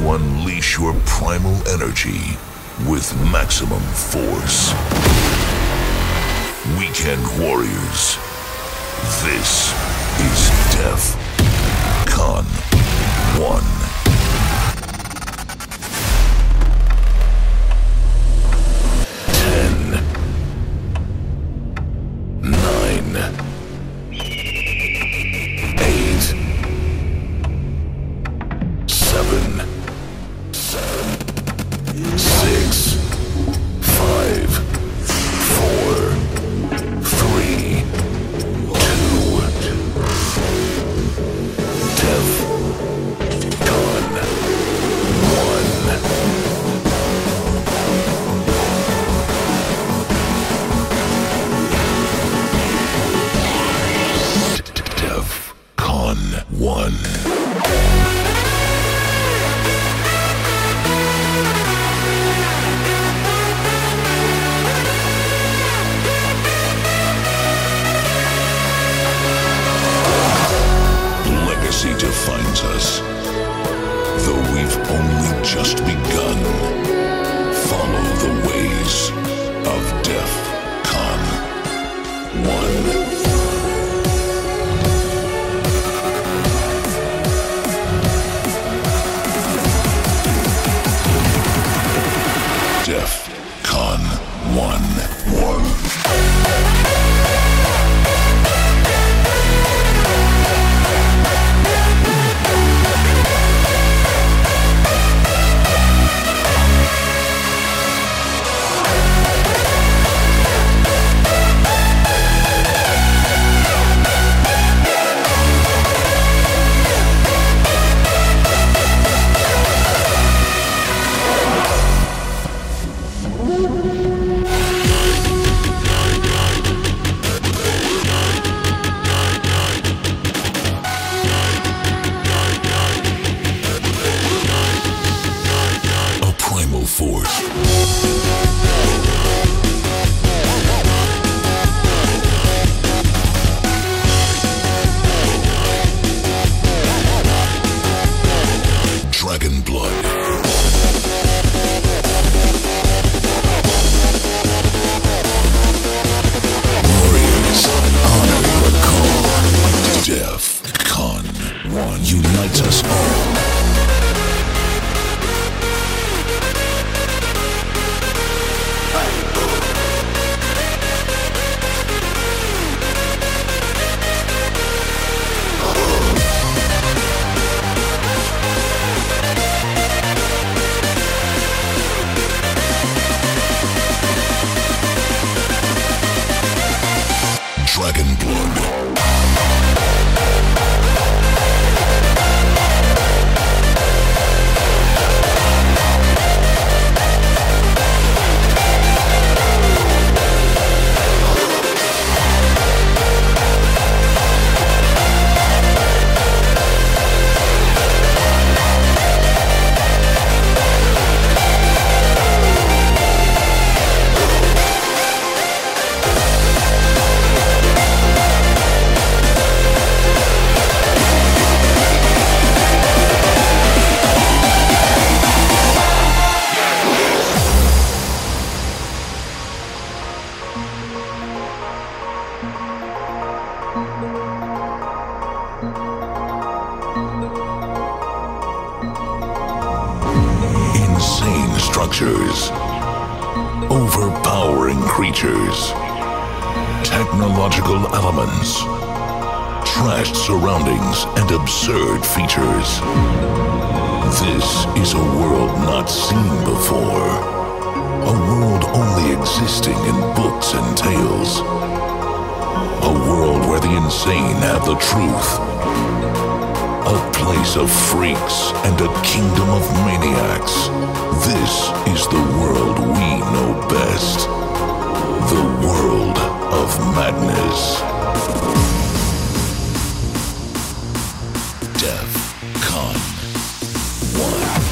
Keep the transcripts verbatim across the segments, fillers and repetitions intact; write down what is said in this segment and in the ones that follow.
to unleash your primal energy with maximum force. Weekend Warriors. This is Def Con one. Defines us, though we've only just begun. Follow the ways of Def Con one. Def Con one. One. Structures, overpowering creatures, technological elements, trashed surroundings, and absurd features. This is a world not seen before, a world only existing in books and tales, a world where the insane have the truth, a place of freaks and a kingdom of maniacs. This is the world we know best. The world of madness. Def Con one.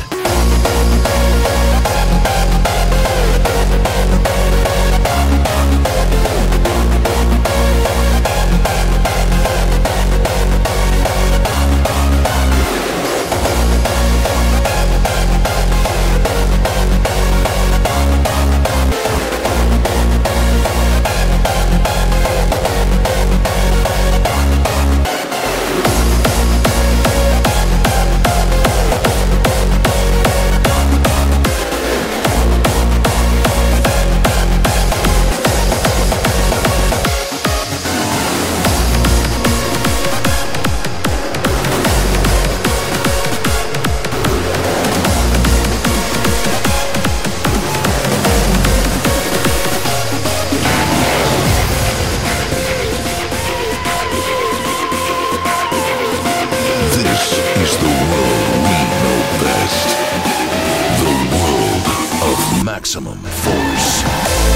This is the world we know best. The world of maximum force.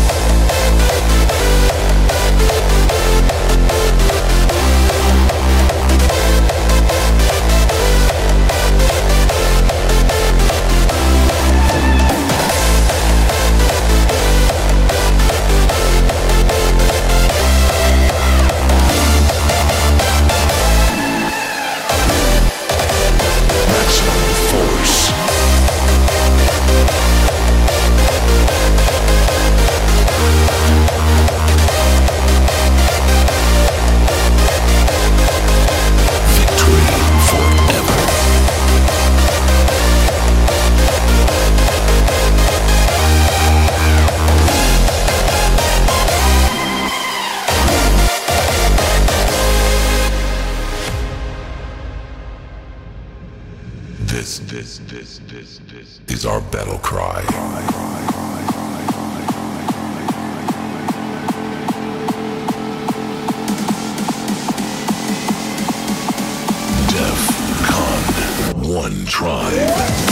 This, this, this, this, this is our battle cry. DEF CON one tribe.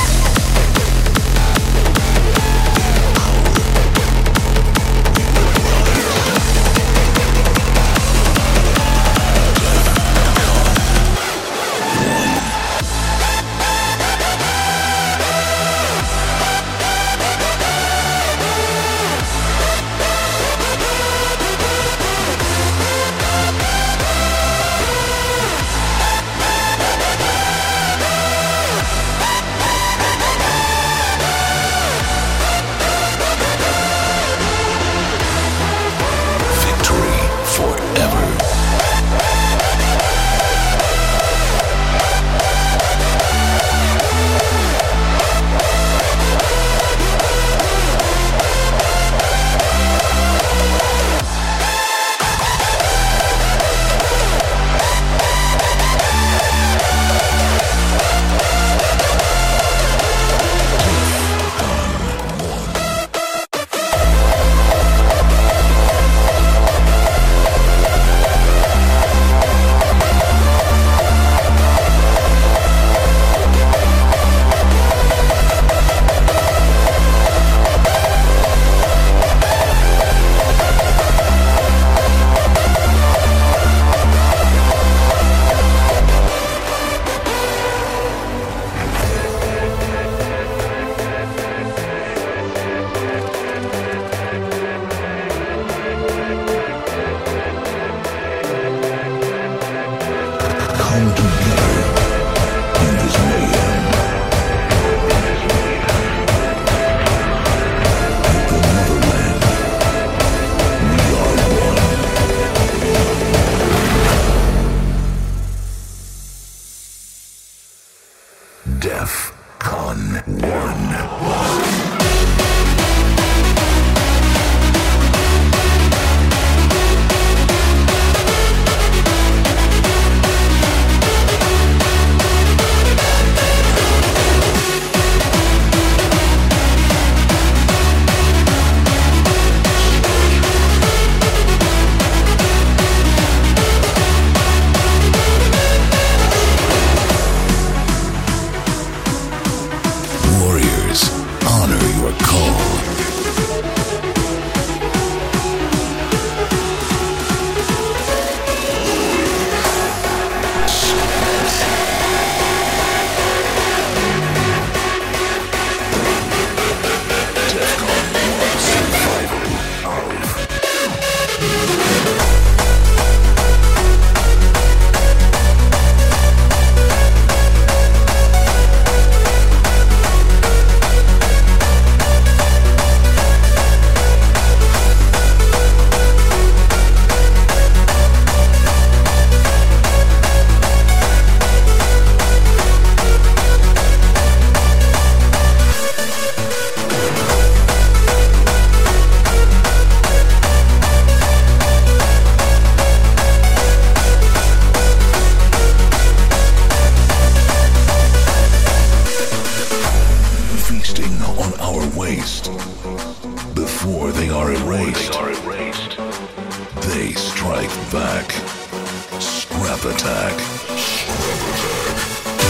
DEF CON one. Before they are erased, they strike back. Scrap attack.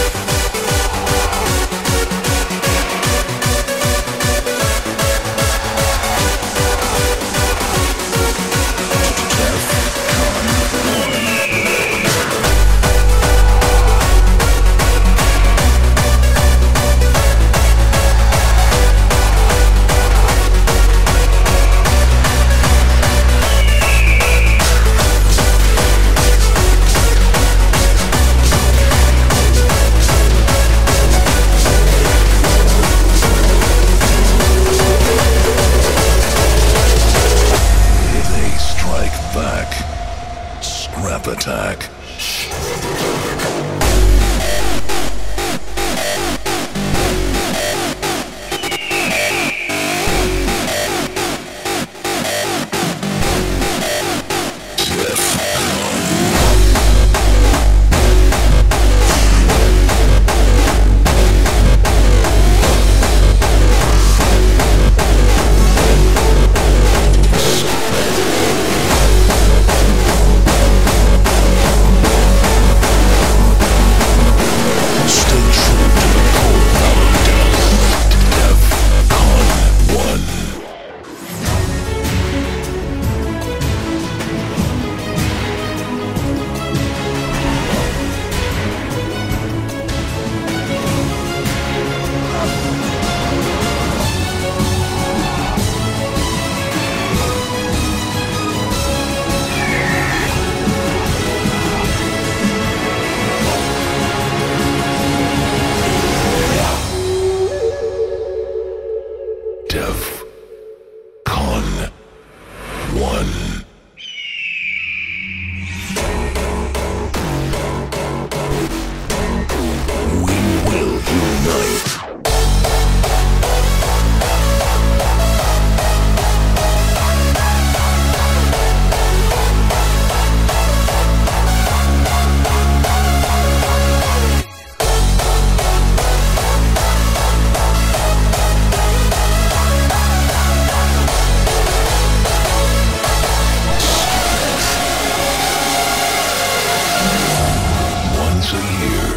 a year.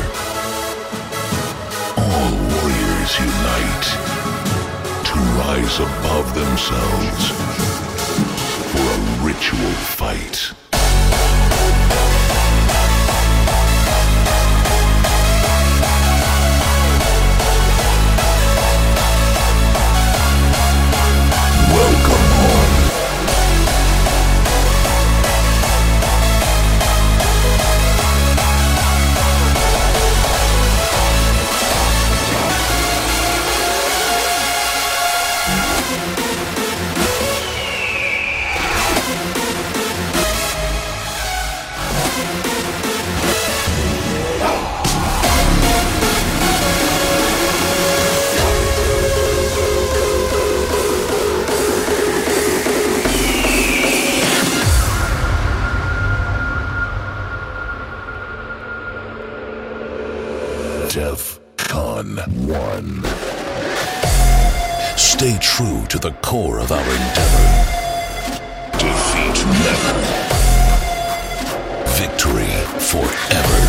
All warriors unite to rise above themselves for a ritual fight. Welcome home. DEFCON one. Stay true to the core of our endeavor. Defeat never. Victory forever.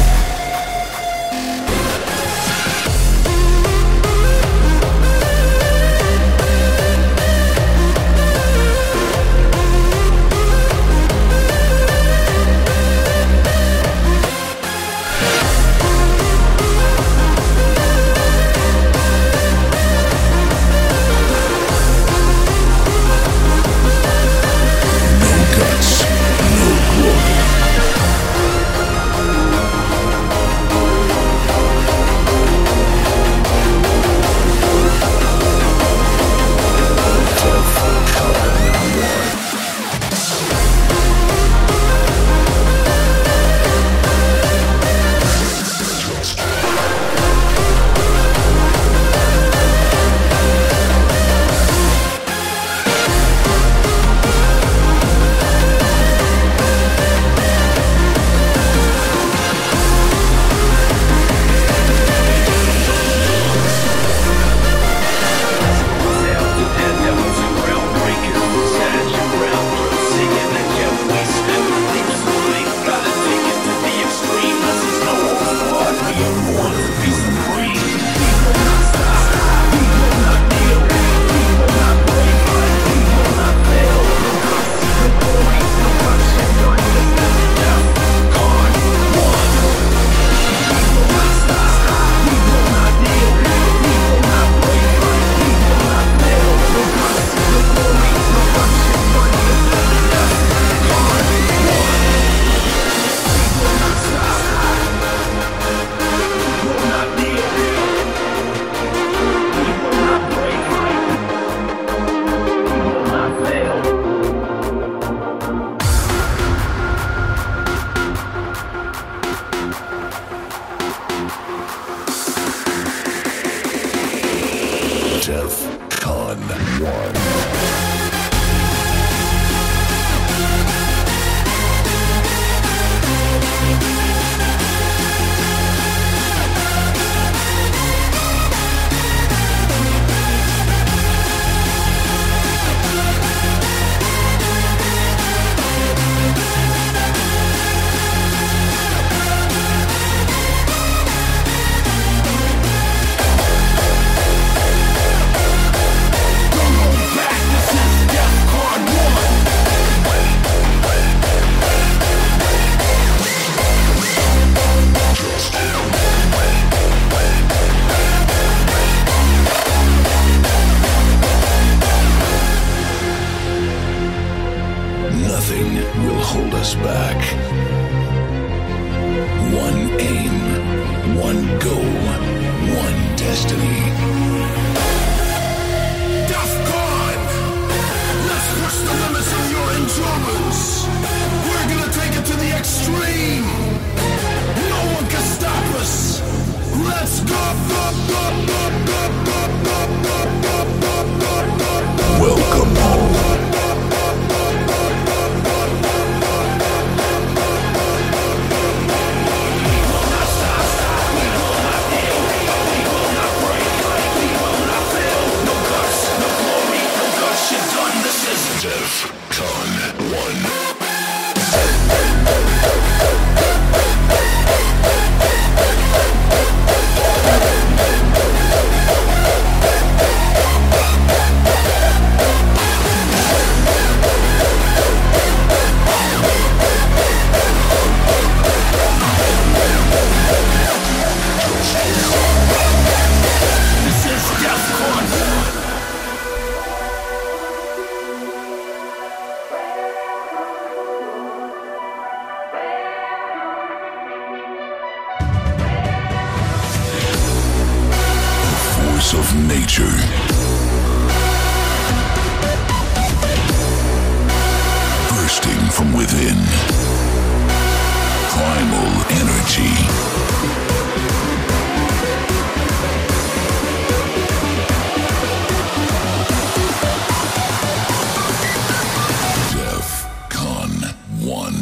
DEFCON one. Nothing will hold us back. One aim, one goal, one destiny. DEFCON! Let's push the limits of your endurance. We're gonna take it to the extreme. No one can stop us. Let's go, go, go, go, go, go, go, go, go, go, go. Welcome home. DEFCON one. force of nature. Bursting from within. Primal energy. DEFCON one.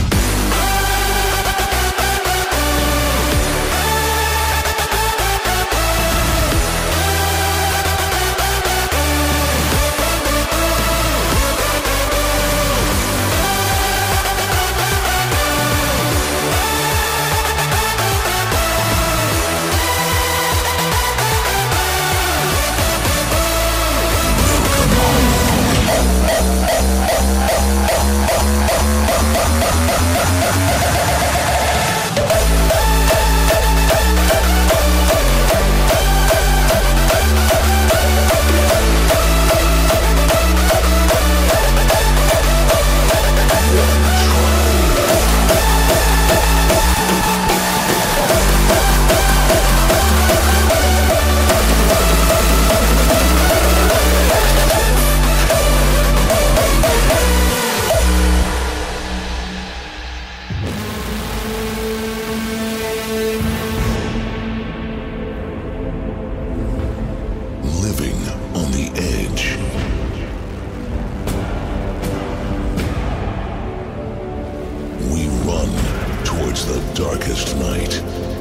Darkest night.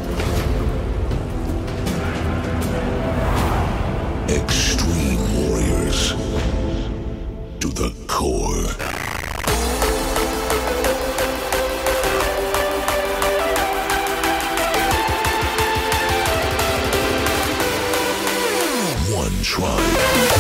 Extreme warriors to the core. One tribe.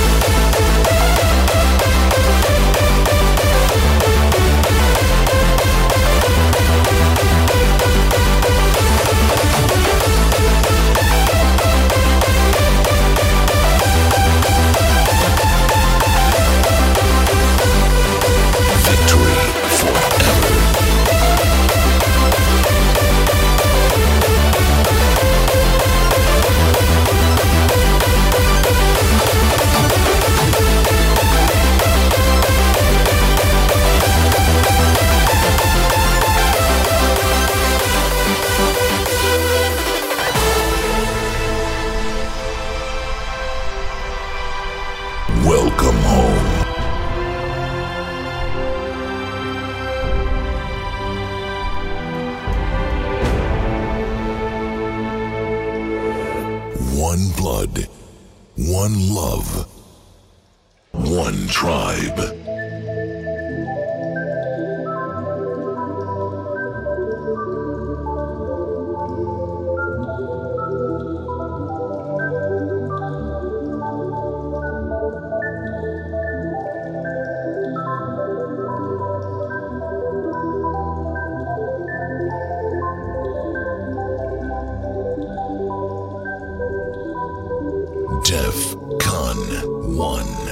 Welcome home. One blood, one love, one tribe. DEFCON one.